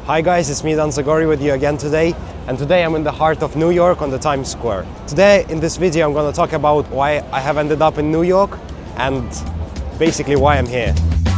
Hi guys, it's me Dan Zagori with you again today, and today I'm in the heart of New York on the Times Square. Today in this video I'm going to talk about why I have ended up in New York and basically why I'm here.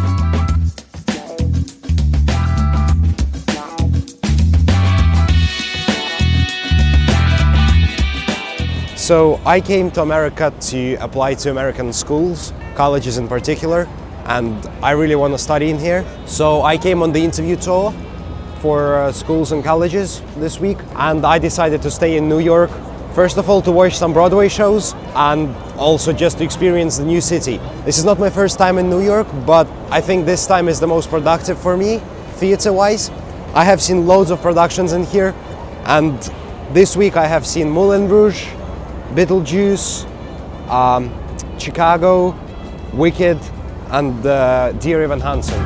So I came to America to apply to American schools, colleges in particular, and I really want to study in here. So I came on the interview tour for schools and colleges this week, and I decided to stay in New York. First of all, to watch some Broadway shows and also just to experience the new city. This is not my first time in New York, but I think this time is the most productive for me, theater-wise. I have seen loads of productions in here, and this week I have seen Moulin Rouge, Beetlejuice, Chicago, Wicked, and Dear Evan Hansen.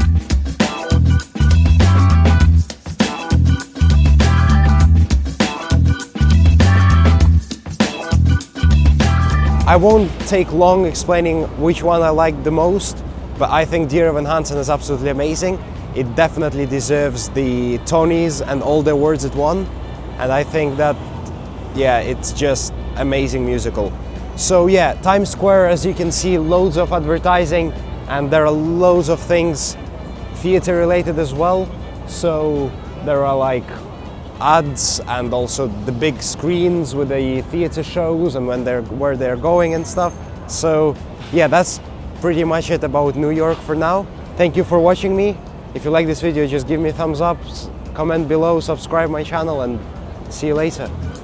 I won't take long explaining which one I like the most, but I think Dear Evan Hansen is absolutely amazing. It definitely deserves the Tonys and all the awards it won, and I think that, yeah, it's just amazing musical. So yeah, Times Square, as you can see, loads of advertising, and there are loads of things theater related as well. So there are like ads and also the big screens with the theater shows and where they're going and stuff. So yeah, that's pretty much it about New York for now. Thank you for watching me. If you like this video, just give me a thumbs up, comment below, subscribe my channel, and see you later.